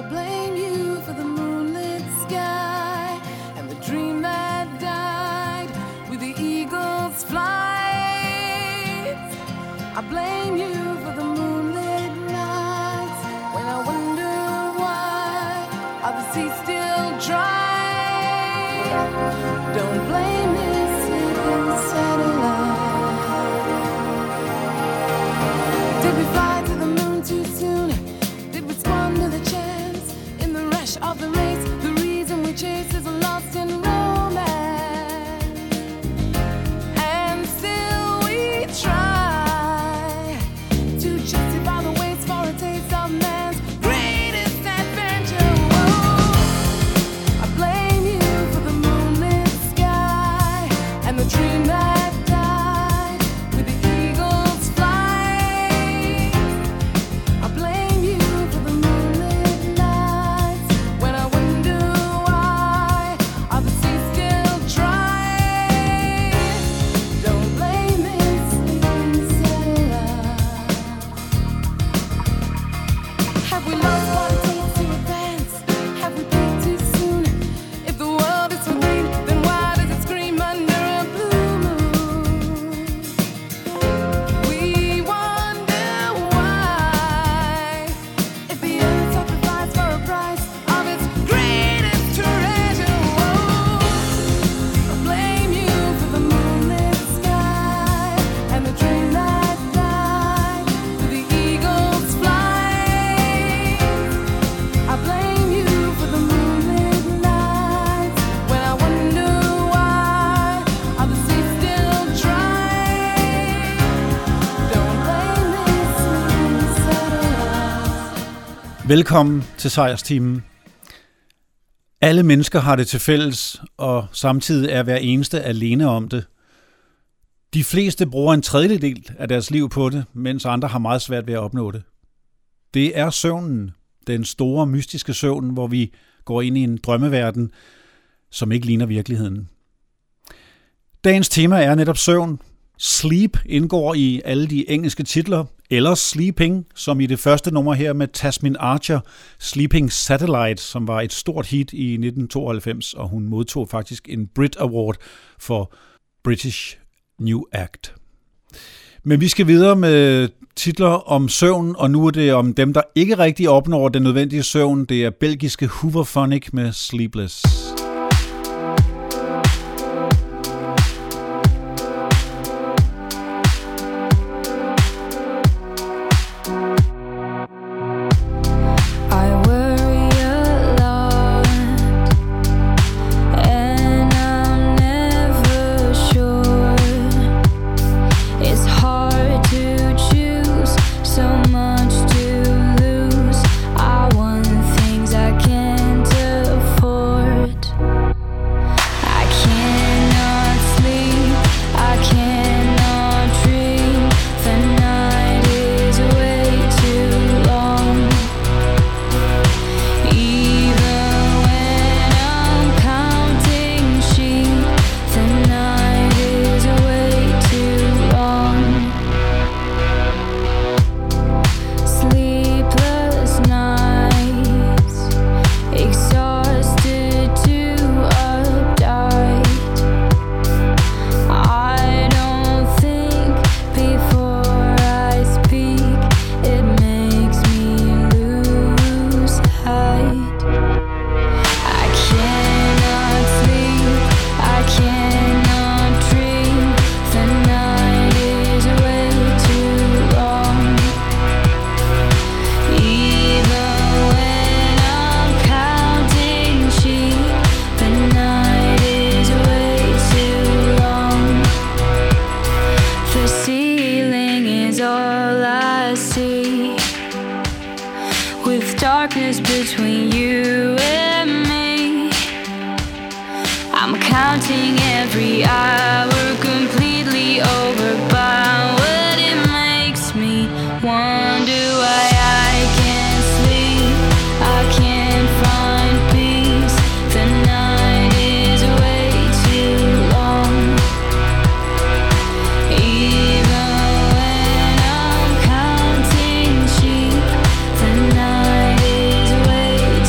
blame you for the moonlit sky and the dream that died with the eagle's flight. I blame you for the moonlit nights when I wonder why are the seas still dry. Don't blame this sleeping satellite. Did we fly to the moon too soon? Did we squander the chance in the rush of the race? The reason we chase is lost in romance, and still we try to justify the waste for a taste of man's greatest adventure. Whoa. I blame you for the moonlit sky and the dream that died with the eagle's flight. I blame you for the moonlit nights when I wonder why are the seas still dry. Don't blame this sleeping satellite. Have we lost what it takes to advance? Have we peaked too soon? If the world is for green, then why does it scream under a blue moon? We wonder why, if the earth sacrificed for a price of its greatest treasure. Whoa. I blame you for the moonlit sky and the dream that died with the eagle's flight. I blame you for the moonlit nights when I wonder why are the seas still dry. Don't blame this sleeping satellite. Velkommen til Sejrstimen. Alle mennesker har det til fælles, og samtidig er hver eneste alene om det. De fleste bruger en tredjedel af deres liv på det, mens andre har meget svært ved at opnå det. Det er søvnen, den store mystiske søvn, hvor vi går ind i en drømmeverden, som ikke ligner virkeligheden. Dagens tema er netop søvn. Sleep indgår i alle de engelske titler, eller Sleeping, som i det første nummer her med Tasmin Archer, Sleeping Satellite, som var et stort hit i 1992, og hun modtog faktisk en Brit Award for British New Act. Men vi skal videre med titler om søvn, og nu er det om dem, der ikke rigtig opnår den nødvendige søvn. Det er belgiske Hooverphonic med Sleepless. I worry a lot, and I'm never sure. It's hard to choose, so much to lose. I want things I can't afford. I cannot sleep, I cannot dream. The night is way too long. Even when I'm counting sheep, the night is way too long. Sleepless nights, exhausted to uptight. I don't think before I speak, it makes me lose height. I cannot sleep, I cannot dream. The night is way too long. Even when I'm counting sheep, the night is way too long. The ceiling is all I see, with darkness between you and me. I'm counting every hour, completely overbound. What it makes me wonder why I can't sleep, I can't find peace. The night is way too long. Even when I'm counting sheep, the night is way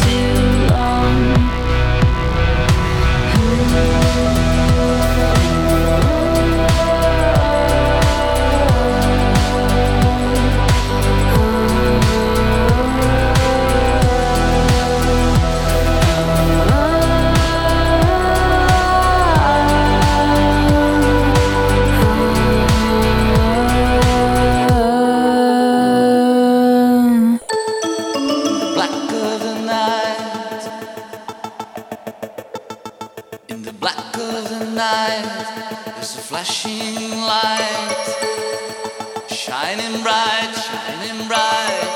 flashing light, shining bright, shining bright.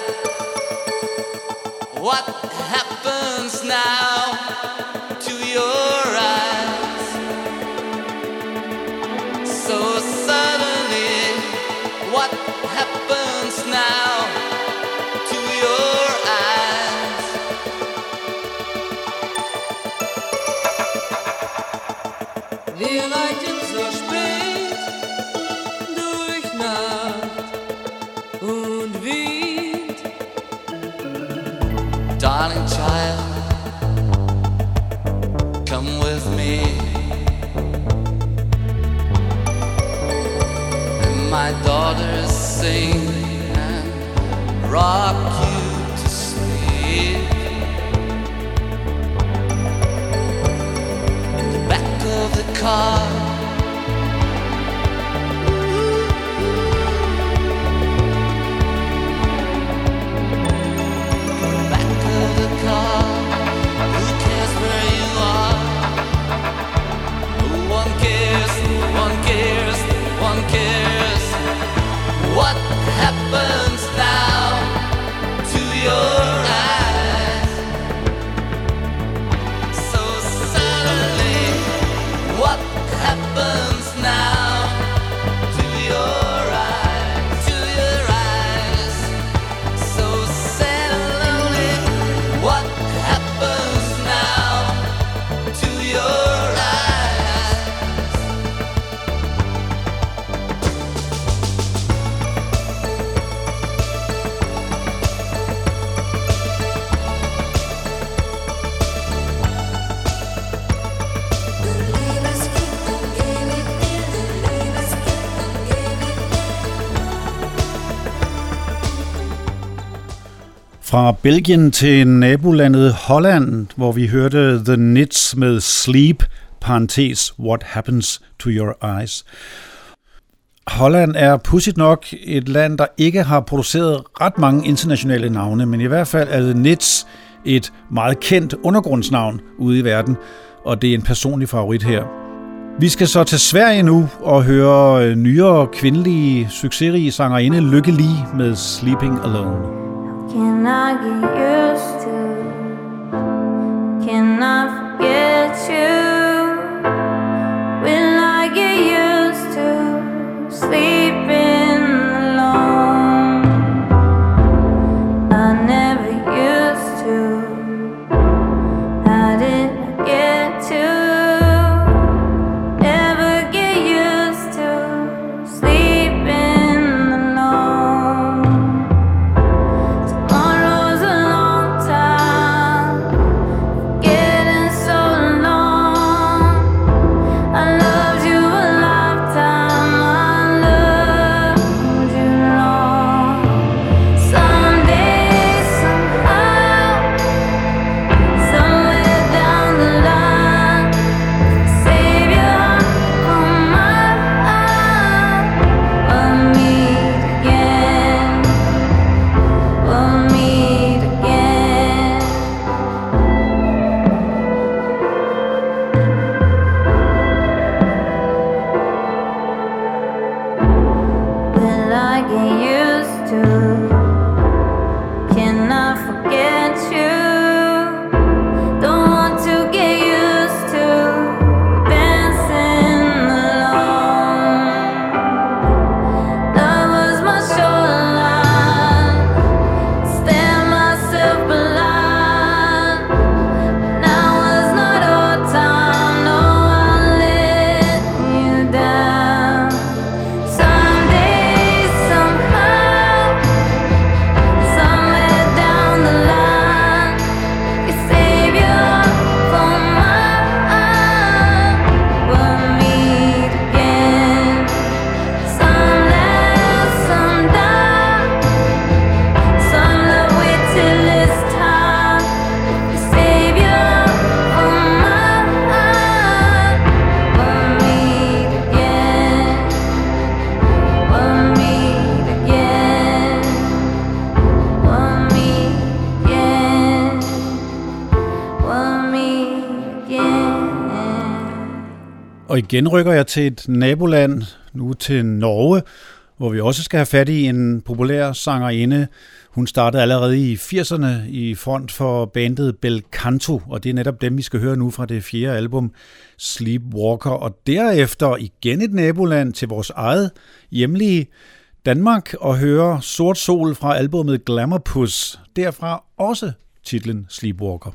What happens now to your eyes? So suddenly, what happens now to your eyes? Wir reiten so spät durch Nacht und Wind. Darling child, come with me. And my daughters sing and rock you to sleep. In the back of the car, who cares where you are? No one cares, no one cares, no one cares. What happens now to your eyes? So suddenly, what happens now to your eyes? To your eyes, so sad and lonely. What happens now to your eyes? Fra Belgien til nabolandet Holland, hvor vi hørte The Nits med Sleep, parentes, What Happens to Your Eyes. Holland er pudsigt nok et land, der ikke har produceret ret mange internationale navne, men i hvert fald er The Nits et meget kendt undergrundsnavn ude i verden, og det er en personlig favorit her. Vi skal så til Sverige nu og høre nyere kvindelige succesrige sangerinde Lykke Li med Sleeping Alone. Can I get used to? Can I forget you? Will I get used to sleeping alone? I never used to. How did I get to? Ever get used to sleeping alone? Tomorrow's a long time, getting so long. Og igen rykker jeg til et naboland, nu til Norge, hvor vi også skal have fat i en populær sangerinde. Hun startede allerede i 80'erne i front for bandet Belcanto, og det er netop dem, vi skal høre nu fra det 4. album, Sleepwalker. Og derefter igen et naboland til vores eget hjemlige Danmark, og høre Sort Sol fra albumet Glamourpuss. Derfra også titlen Sleepwalker.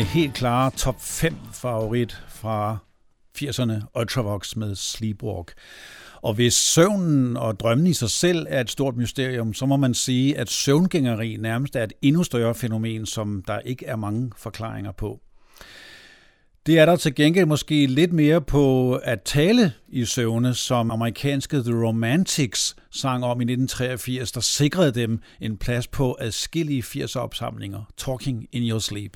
helt klare top 5 favorit fra 80'erne, Ultravox med Sleepwalk. Og hvis søvnen og drømmen i sig selv er et stort mysterium, så må man sige, at søvngængeri nærmest er et endnu større fænomen, som der ikke er mange forklaringer på. Det er der til gengæld måske lidt mere på at tale i søvne, som amerikanske The Romantics sang om i 1983, der sikrede dem en plads på adskillige 80'er-opsamlinger, Talking in Your Sleep.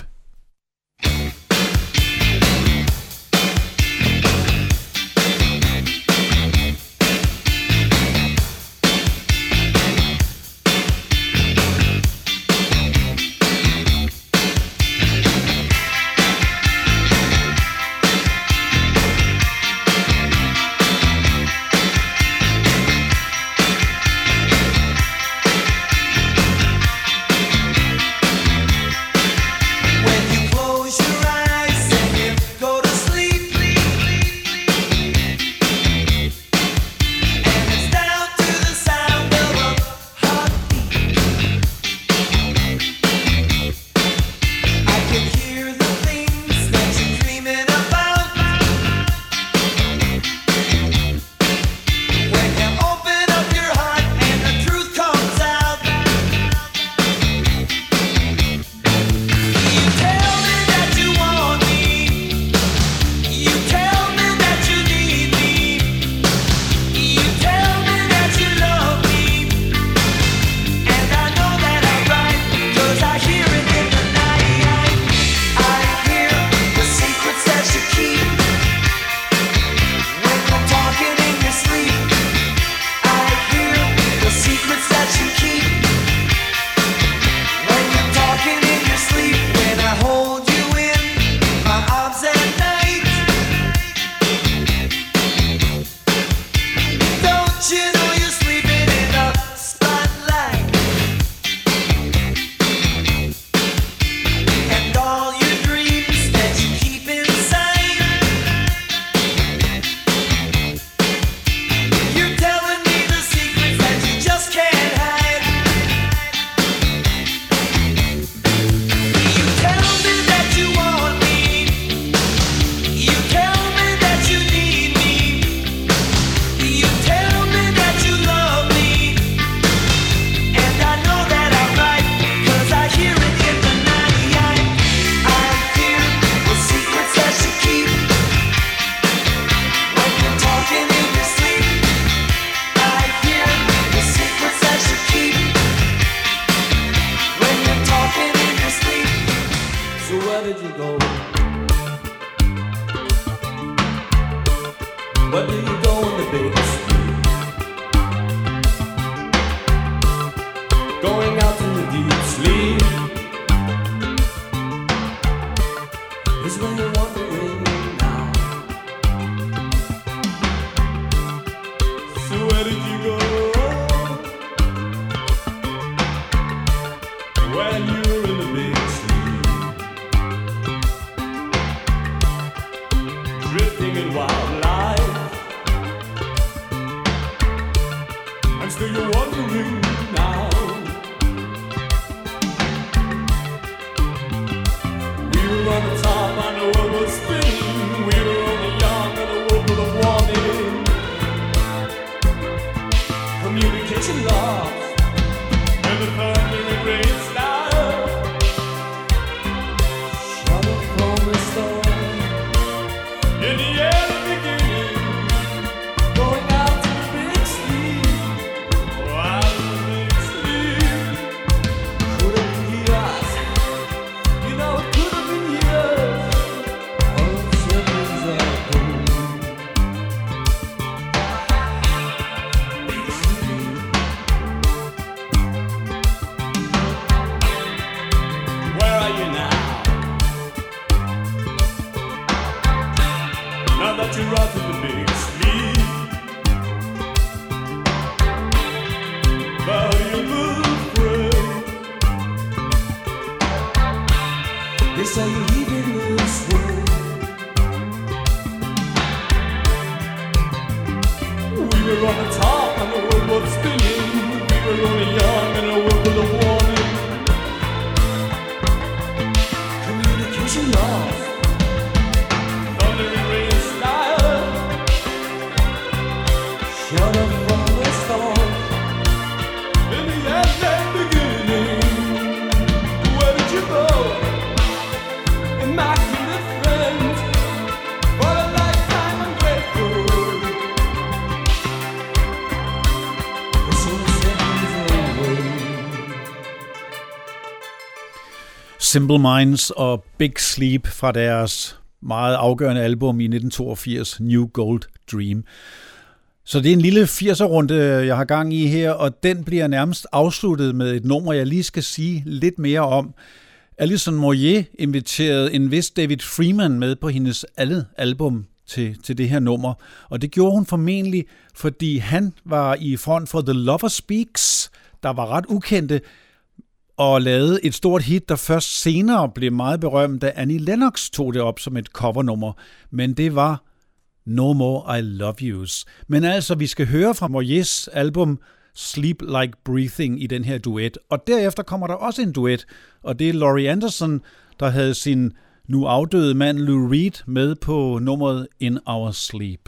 Simple Minds og Big Sleep fra deres meget afgørende album i 1982, New Gold Dream. Så det er en lille 80'er-runde, jeg har gang i her, og den bliver nærmest afsluttet med et nummer, jeg lige skal sige lidt mere om. Alison Moyet inviterede en vis David Freeman med på hendes andet album til det her nummer, og det gjorde hun formentlig, fordi han var i front for The Lover Speaks, der var ret ukendte, og lavede et stort hit, der først senere blev meget berømt, da Annie Lennox tog det op som et covernummer. Men det var No More I Love Yous. Men altså, vi skal høre fra Moyets album Sleep Like Breathing i den her duet. Og derefter kommer der også en duet, og det er Laurie Anderson, der havde sin nu afdøde mand Lou Reed med på nummeret In Our Sleep.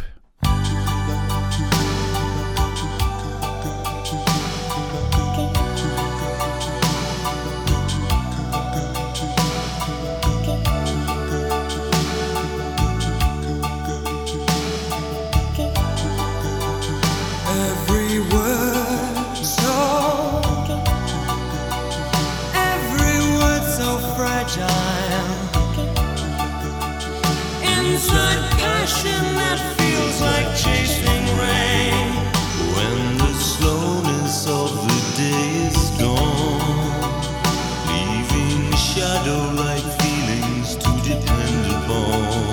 That feels like chasing rain when the slowness of the day is gone, leaving shadow-like feelings to depend upon.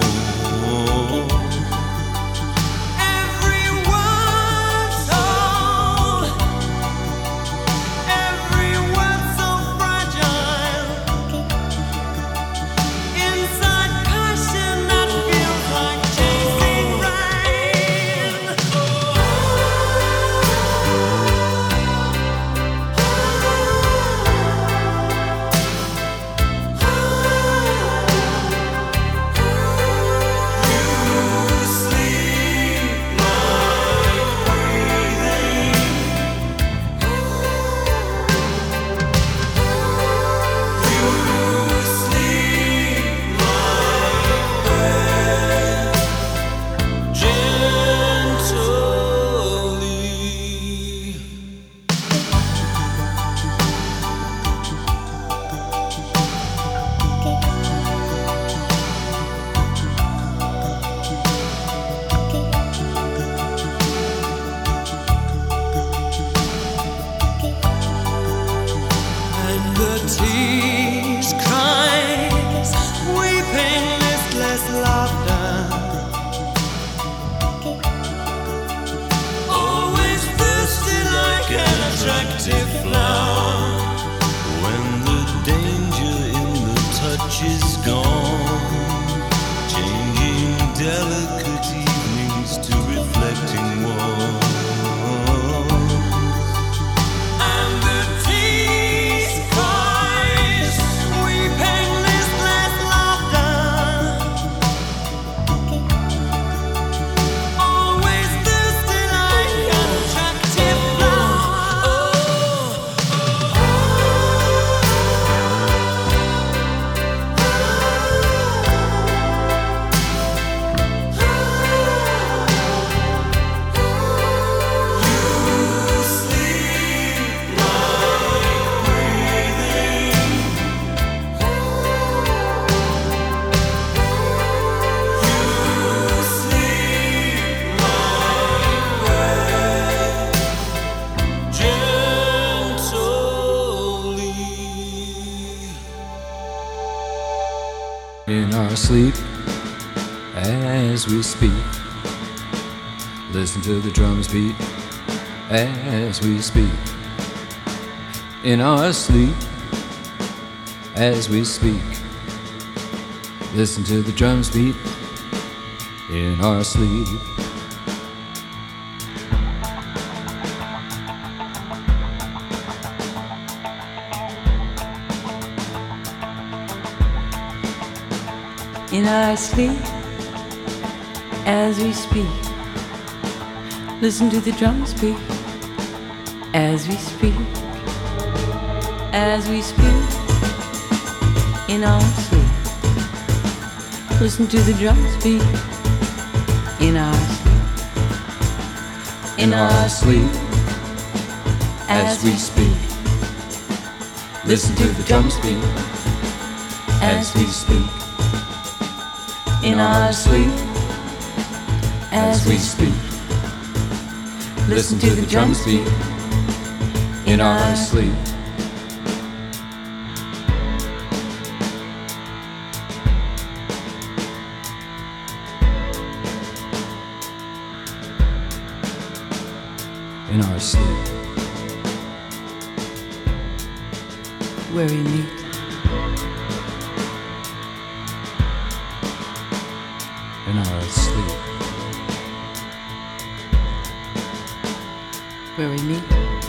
Sleep as we speak. Listen to the drums beat as we speak. In our sleep as we speak. Listen to the drums beat in our sleep. In our sleep, as we speak, listen to the drums beat. As we speak, as we speak, in our sleep, listen to the drums beat. In our sleep, In our sleep, as we speak, listen to the drums beat. as we speak. In our sleep, as we speak. Listen to the drums beat. In our sleep. In our sleep. Where we meet. In our sleep. Where we meet.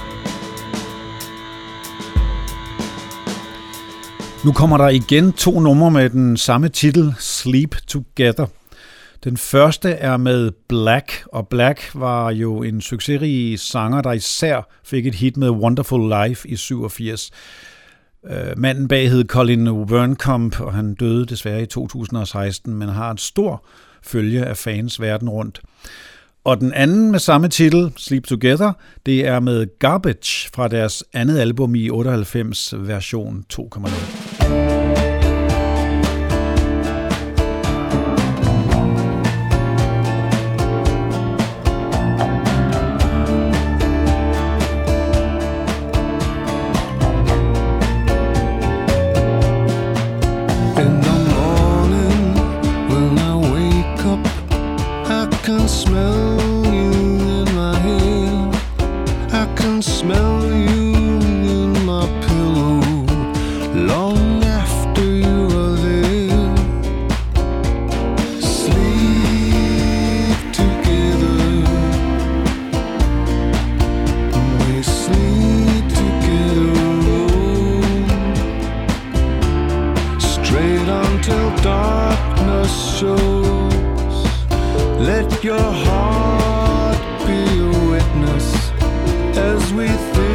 Nu kommer der igen 2 numre med den samme titel, Sleep Together. Den første er med Black, og Black var jo en succesrig sanger, der især fik et hit med Wonderful Life i 87. Manden bag hed Colin Wernkomp, og han døde desværre i 2016, men har en stor følge af fans verden rundt. Og den anden med samme titel, Sleep Together, det er med Garbage fra deres andet album i 98, version 2.0. Let your heart be a witness as we think.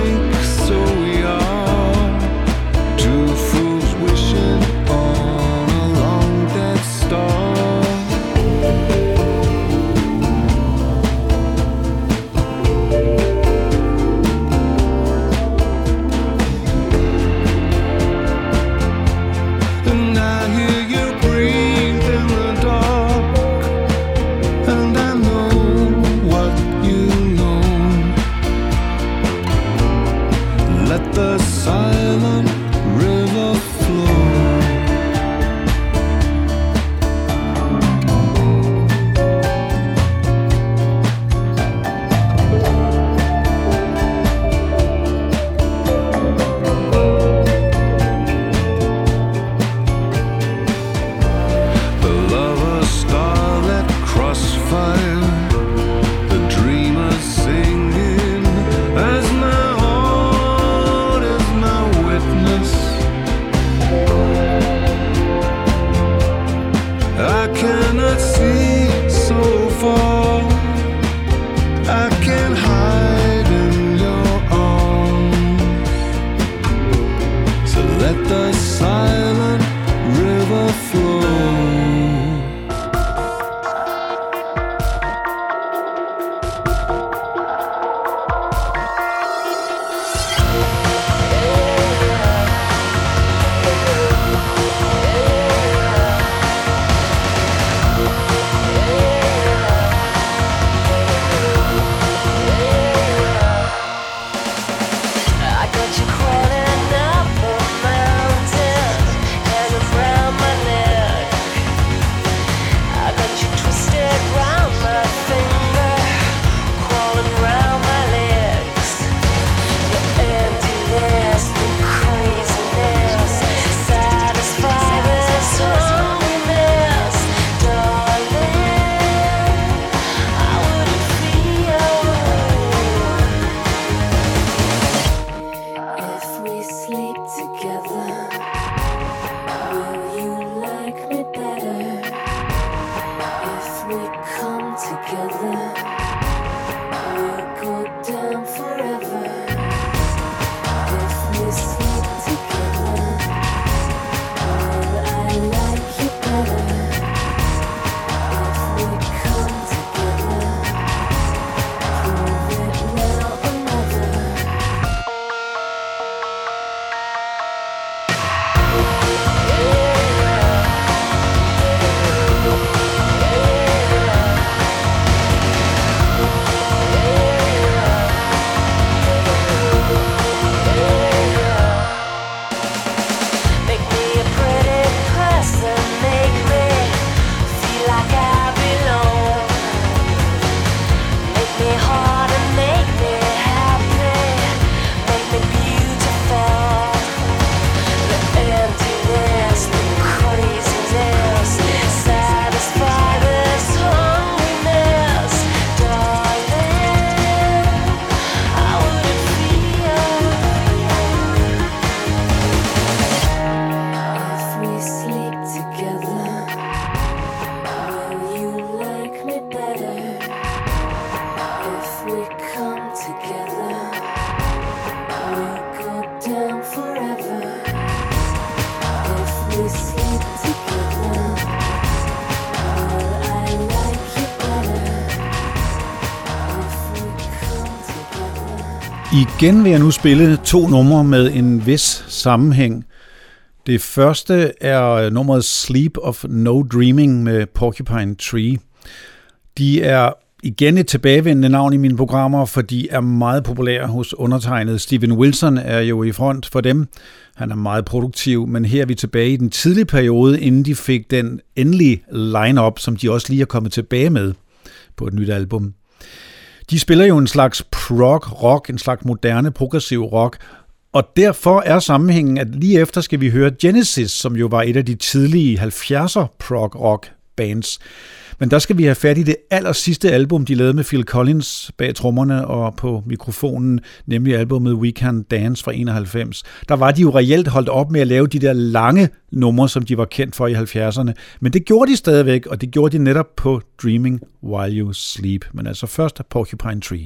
Igen vil jeg nu spille 2 numre med en vis sammenhæng. Det første er nummeret Sleep of No Dreaming med Porcupine Tree. De er igen et tilbagevendende navn i mine programmer, for de er meget populære hos undertegnet. Steven Wilson er jo i front for dem. Han er meget produktiv, men her er vi tilbage i den tidlige periode, inden de fik den endelige line-up, som de også lige er kommet tilbage med på et nyt album. De spiller jo en slags prog rock, en slags moderne progressiv rock, og derfor er sammenhængen, at lige efter skal vi høre Genesis, som jo var et af de tidlige 70'er prog rock bands. Men der skal vi have fat i det allersidste album, de lavede med Phil Collins bag trommerne og på mikrofonen, nemlig albumet We Can Dance fra 91. Der var de jo reelt holdt op med at lave de der lange numre, som de var kendt for i 70'erne. Men det gjorde de stadigvæk, og det gjorde de netop på Dreaming While You Sleep. Men altså først Porcupine Tree.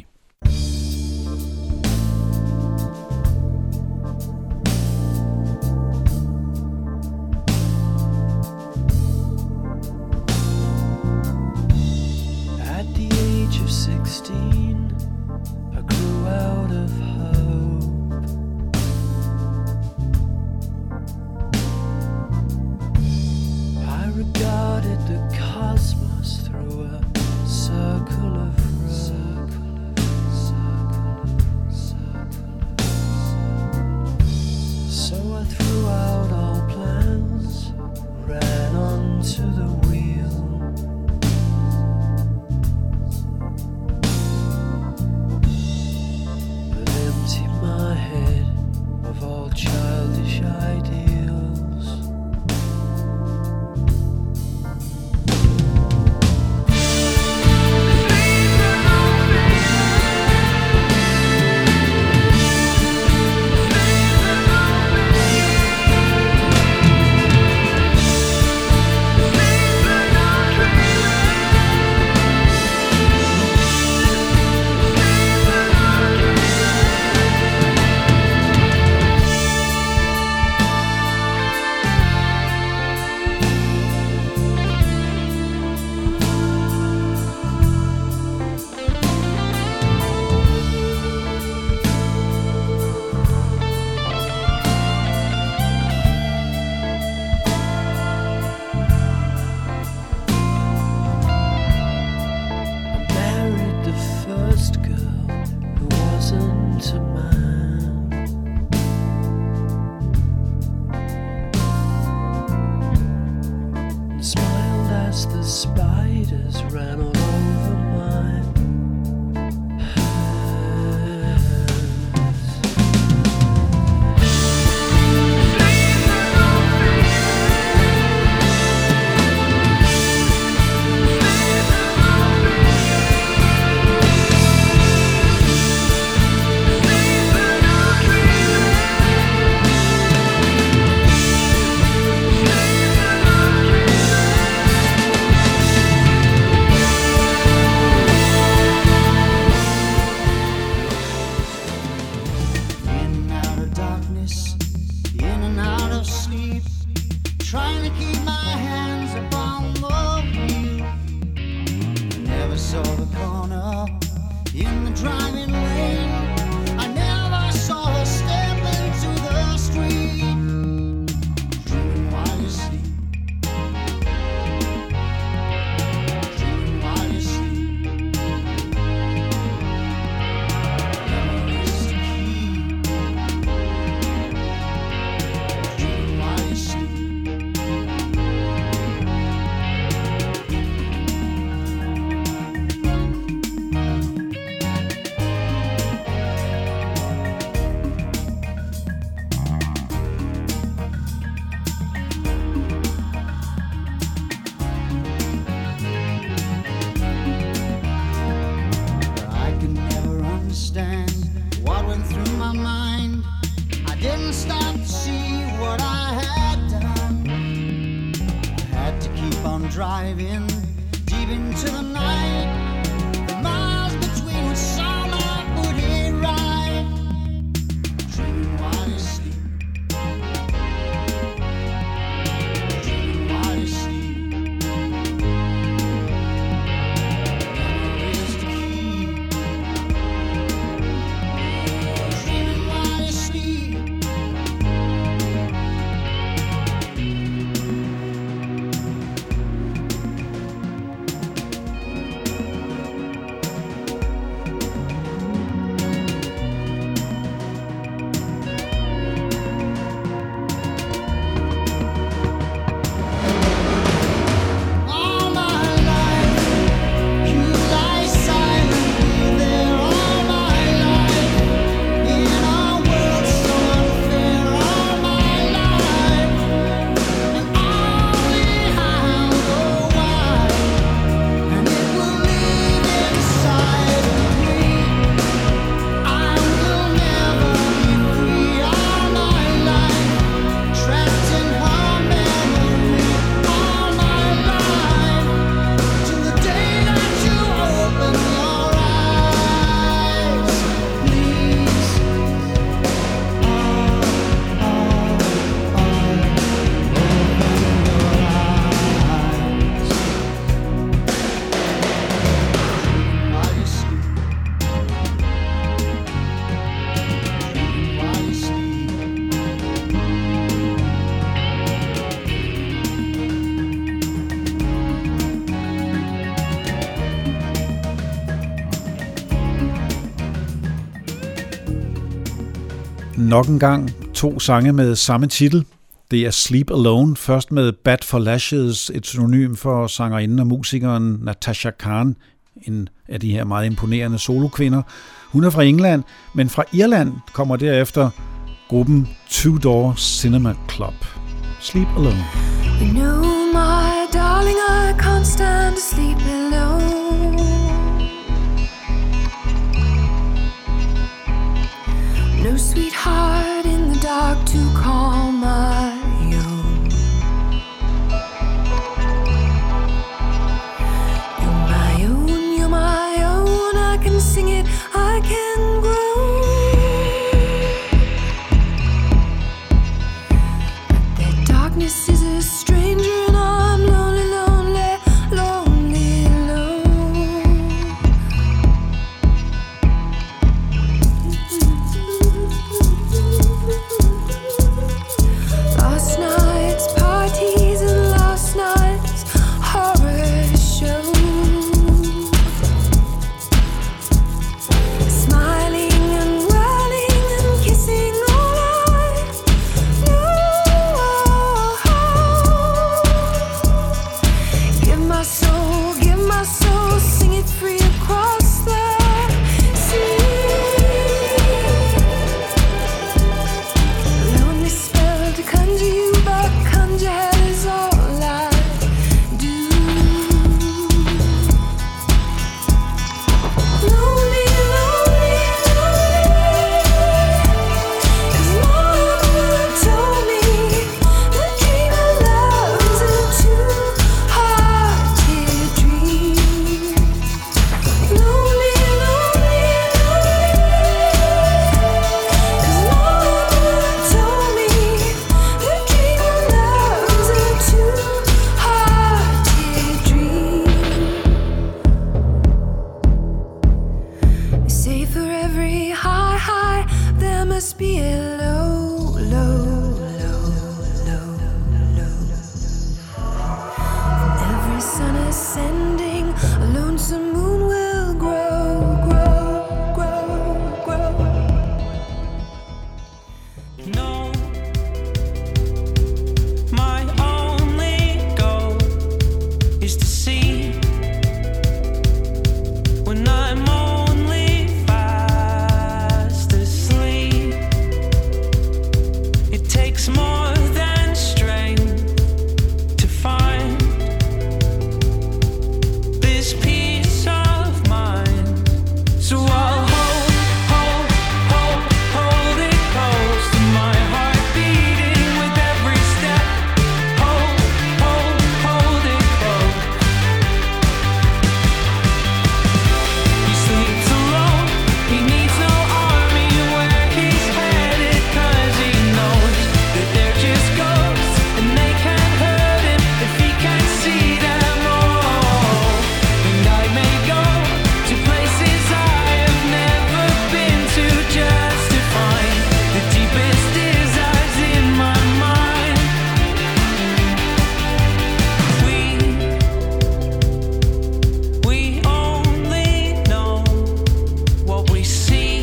Driving deep into the night, the miles between us saw my booty ride, dreaming while you sleep, dreaming while you sleep. Memories to keep. Nok en gang 2 sange med samme titel. Det er Sleep Alone, først med Bat for Lashes, et synonym for sangerinden og musikeren Natasha Khan, en af de her meget imponerende solokvinder. Hun er fra England, men fra Irland kommer derefter gruppen Two Door Cinema Club. Sleep Alone. You know, my darling, I can't stand to sleep alone. No sweetheart in the dark to call my own. You're my own, you're my own. I can sing it, I can grow. But their darkness is a stranger, and I'm lonely, lonely, lonely, alone. Last night's parties and last night's horror shows, smiling and whirling and kissing all I know. Give my soul, sing it free across the sea. Lonely spell to conjure you back, conjure hell is all I do. Lonely, lonely, lonely. 'Cause mama told me the dream of love's a two-hearted dream. Lonely, lonely, lonely. 'Cause mama told me the dream of love's a two-hearted dream. They say for every high, high, there must be a low, low, low, low, low. And every sun ascending, a lonesome moon will grow, grow, grow, grow. No, my only goal is to see when I'm only fast asleep. It takes more than strength to find this peace of mind. So I'll hold it close to my heart beating with every step. Hold it close. He sleeps alone, he needs no army where he's headed, 'cause he knows that they're just ghosts and they can't hurt him if he can't see them all. And I may go to places I have never been to just to find the deepest desires in my mind. We only know what we see,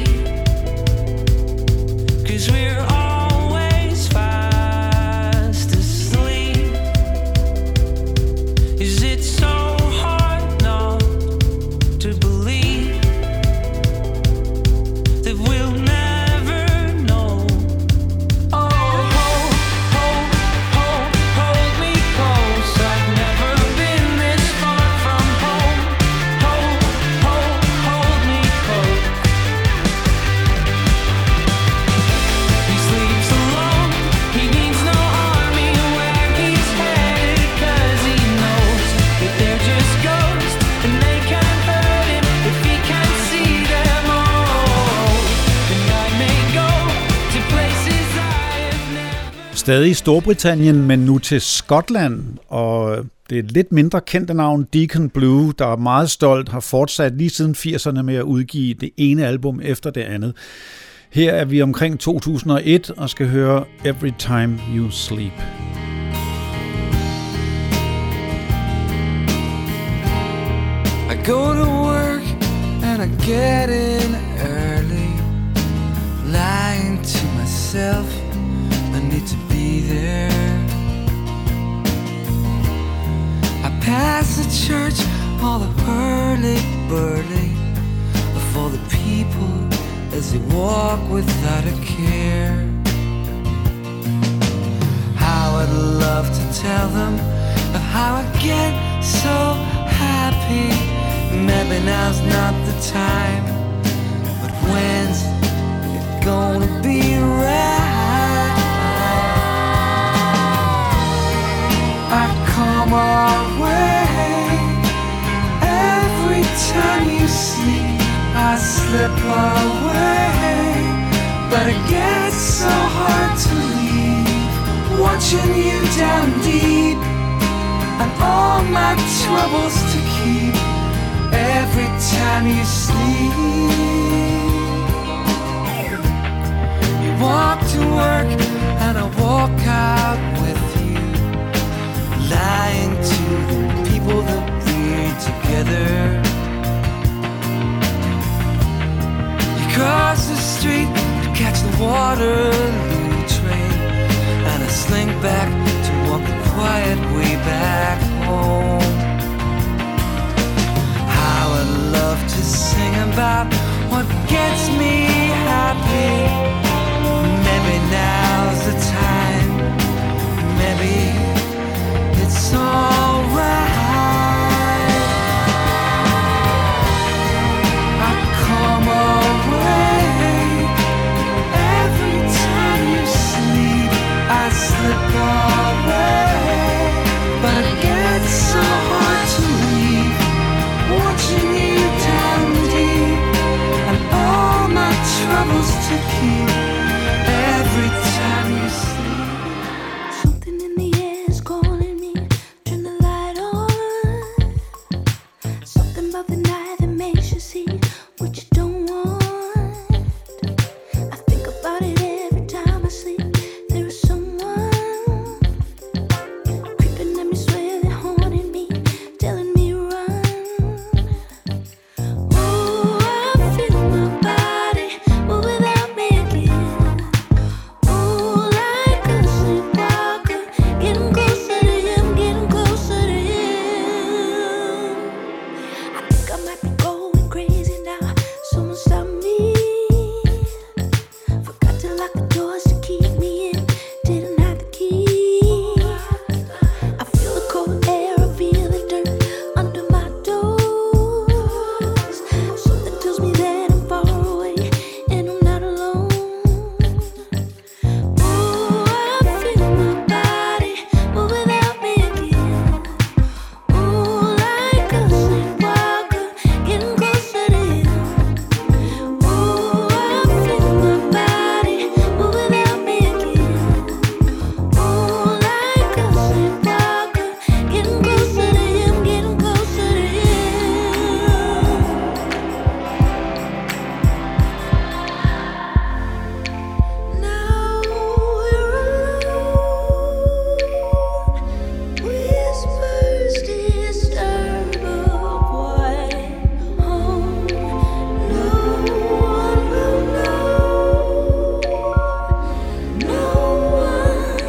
'cause we're always fast asleep. Is it so hard not to believe that we'll never know? Oh, hold me close. I've never been this far from home. Hold me close. He sleeps alone, he needs no army where he's headed, 'cause he knows that they're just ghosts and they can't hurt him if he can't see them all. And I may go to places I have never. Stadig i Storbritannien, men nu til Skotland, og det er et lidt mindre kendte navn, Deacon Blue, der er meget stolt, har fortsat lige siden 80'erne med at udgive det ene album efter det andet. Her er vi omkring 2001 og skal høre Every Time You Sleep. I go to work and I get in early, lying to myself. Does he walk without a care? How I'd love to tell them of how I get so happy. Maybe now's not the time, but when's it gonna be right? I come our way. Every time you sleep, I slip away. But it gets so hard to leave, watching you down deep, and all my troubles to keep. Every time you sleep, you walk to work and I walk out with you, lying to the people that we're together. You cross the street to catch the Waterloo train, and I slink back to walk the quiet way back home. How I'd love to sing about what gets me happy. Maybe now's the time, maybe it's alright. I come away. Every time you sleep, I slip away. But it gets so hard to leave, watching you down deep, and all my troubles to keep. Every time you sleep, Something in the air is calling me. Turn the light on. Something about the night that makes you see what you don't want. I think about it every time I sleep. There is someone creeping at me, swear they're haunting me, telling me run. Ooh, I feel my body move without me again. Ooh, like a sleepwalker, getting closer to him, getting closer to him. I think I might be going crazy now. Someone stop me. Forgot to lock the doors to keep me in. Didn't have the key. I feel the cold air, I feel the dirt under my toes. Something tells me that I'm far away and I'm not alone. Ooh, I feel my body move without me again. Ooh, like a sleepwalker, getting closer to him. Ooh, I feel my body move without me again. Ooh, like a sleepwalker, getting closer to him, getting closer to him. Now we're alone. Whispers disturb a quiet home. No one will know. No one,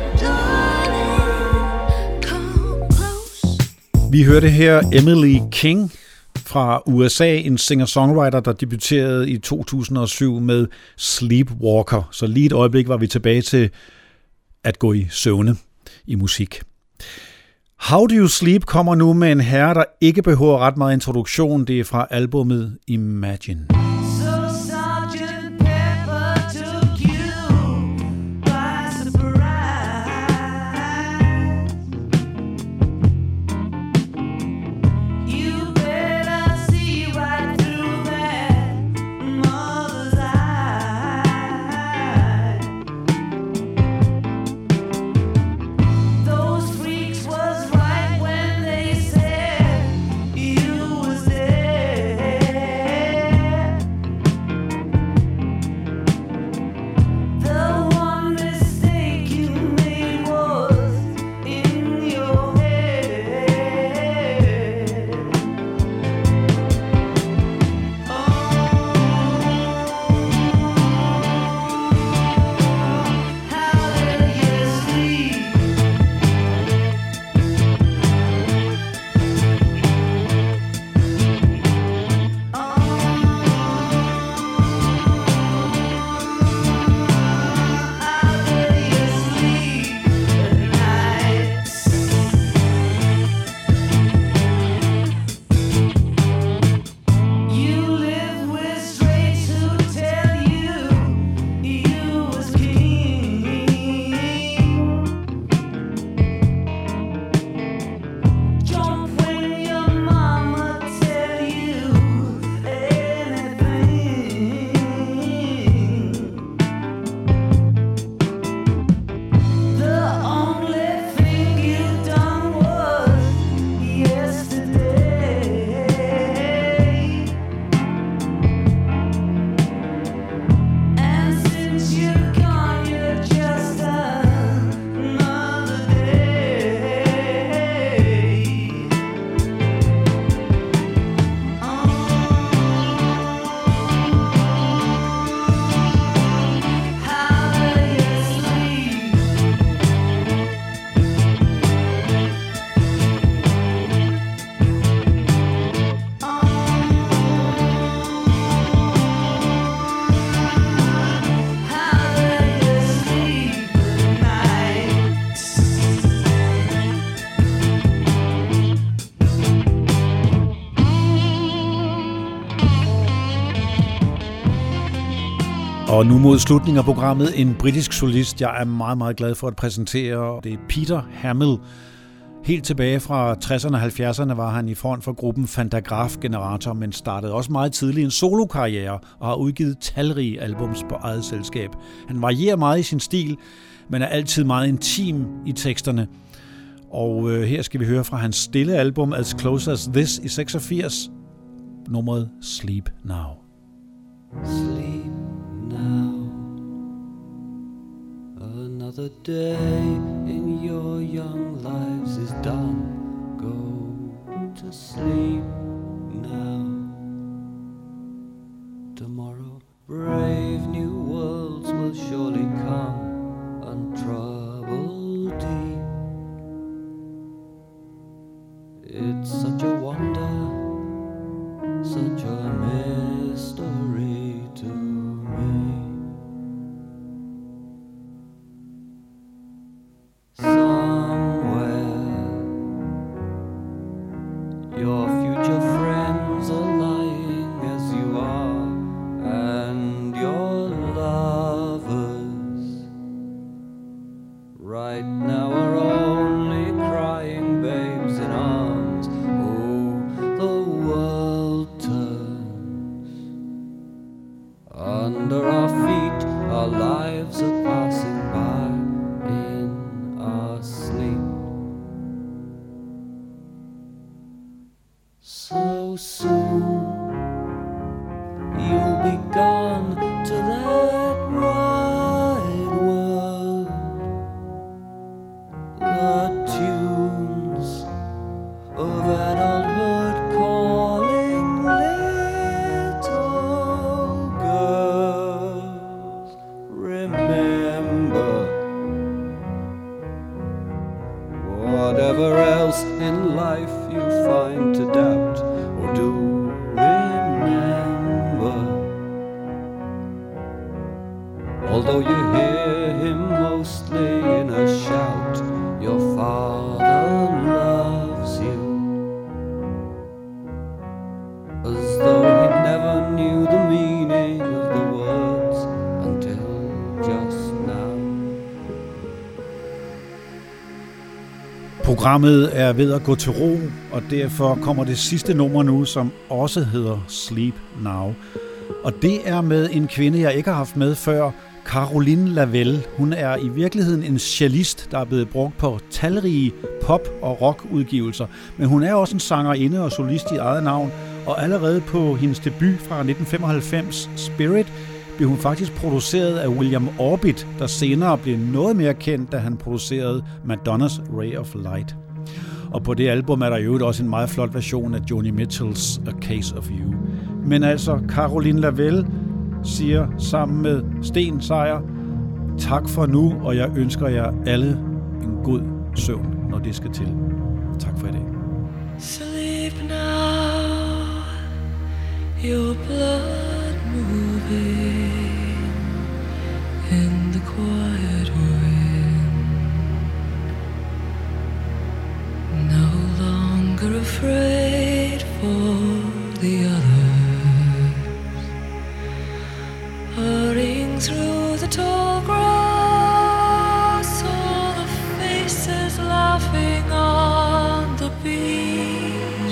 darling, come close. Vi hørte her Emily King fra USA, en singer-songwriter, der debuterede i 2007 med Sleepwalker. Så lige et øjeblik var vi tilbage til at gå i søvne i musik. How Do You Sleep kommer nu med en herre, der ikke behøver ret meget introduktion. Det er fra albumet Imagine. So Sergeant Pepper took you by surprise. You better see right through that mother's eye. Those freaks was right when they said you was there. Og nu mod slutningen af programmet en britisk solist, jeg er meget, meget glad for at præsentere. Det er Peter Hamill. Helt tilbage fra 60'erne og 70'erne var han i front for gruppen Fantagraph Generator, men startede også meget tidligt en solokarriere og har udgivet talrige albums på eget selskab. Han varierer meget i sin stil, men er altid meget intim i teksterne. Og her skal vi høre fra hans stille album As Close As This i 86, nummeret Sleep Now. Sleep now. Another day in your young lives is done. Go to sleep now. Tomorrow, brave new worlds will surely come, untroubled deep. It's such a wonder, such a mystery to me. Somewhere your future friends are lying as you are, and your lovers right now are only crying babes in arms. Oh, the world turns under our feet, our lives are passing by in our sleep. So soon you'll be gone to that wide world. The tunes of adulthood calling little girls. Remember, whatever else in life you find to doubt, or do remember, although you hear him mostly in a shout, your Father loves you as though he never knew the meaning of the words until just now. Programmet er ved at gå til ro, og derfor kommer det sidste nummer nu, som også hedder Sleep Now. Og det er med en kvinde, jeg ikke har haft med før, Caroline Lavelle. Hun er i virkeligheden en cellist, der er blevet brugt på talrige pop- og rockudgivelser. Men hun er også en sangerinde og solist i eget navn, og allerede på hendes debut fra 1995, Spirit, blev hun faktisk produceret af William Orbit, der senere blev noget mere kendt, da han producerede Madonnas Ray of Light. Og på det album er der jo også en meget flot version af Joni Mitchells A Case of You. Men altså, Caroline Lavelle siger sammen med Sten Sejer, tak for nu, og jeg ønsker jer alle en god søvn, når det skal til. Tak for i dag. Sleep now, your blood moving in the quiet wind. No longer afraid for the others, hurrying through the tall grass, all the faces laughing on the beach.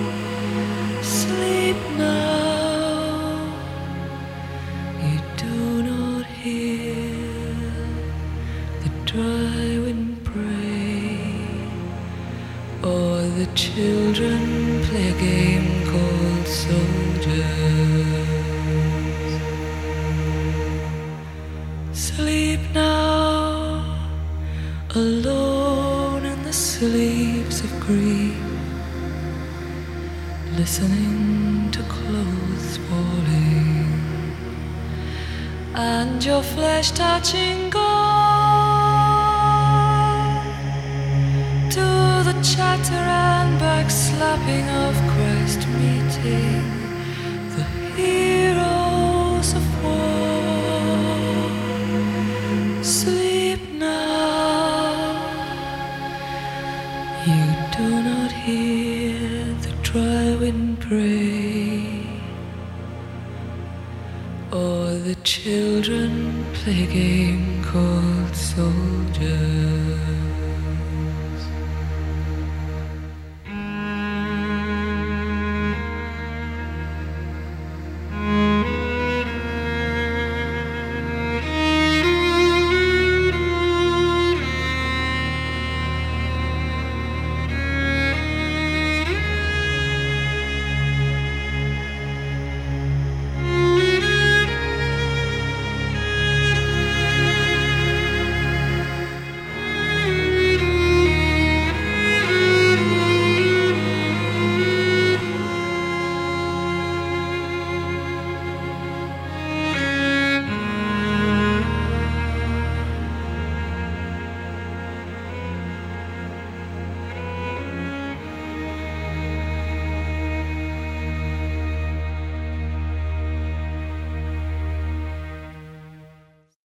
Sleep now, you do not hear the dry wind pray, or the children play a game called soldiers. Sleep now, alone in the sleeps of grief, listening to clothes falling and your flesh touching gold, to the chatter and backslapping of Christ meeting the heroes of war. Sleep now, you do not hear the dry wind pray, or the chill children play a game called soldier.